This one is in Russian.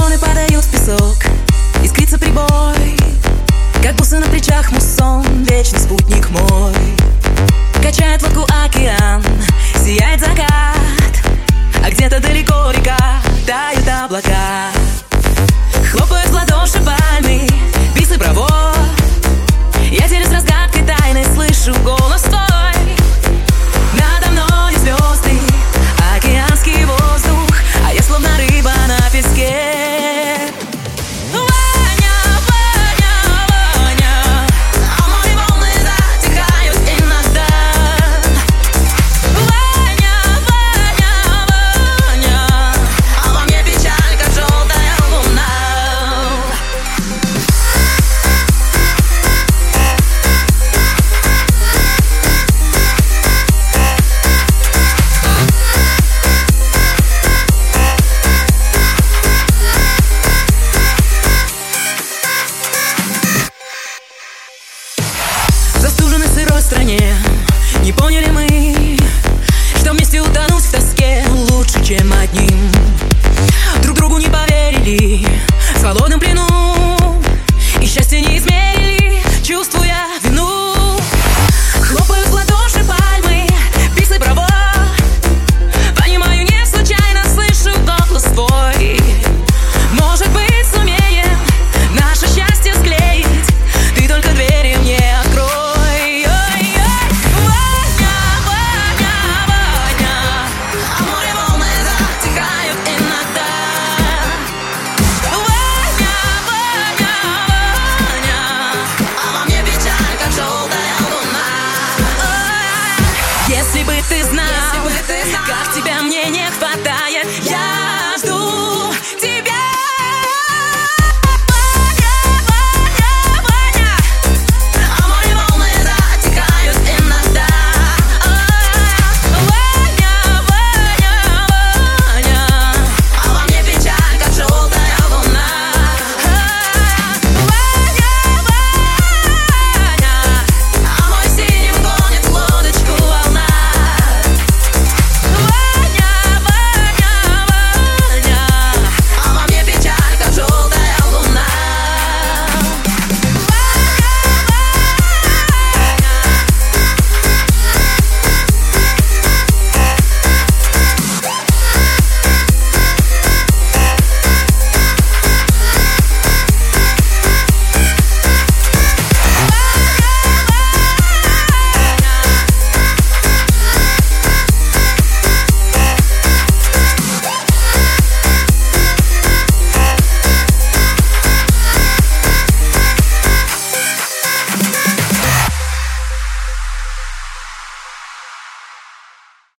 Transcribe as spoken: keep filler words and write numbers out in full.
Волны падают в песок, искрится прибой, как бусы на плечах муссон, вечный спутник мой. Качает лодку океан, сияет закат, а где-то далеко река, тают облака. Хлопают в ладоши пальмы, писы провод. Я делюсь разгадкой тайны, слышу голос твой. Надо мною звезды, океанский воздух, а я словно рыба на песке. В застуженной сырой стране не поняли мы, что вместе утонуть в тоске лучше, чем одним. Друг другу не поверили, с холодным пленом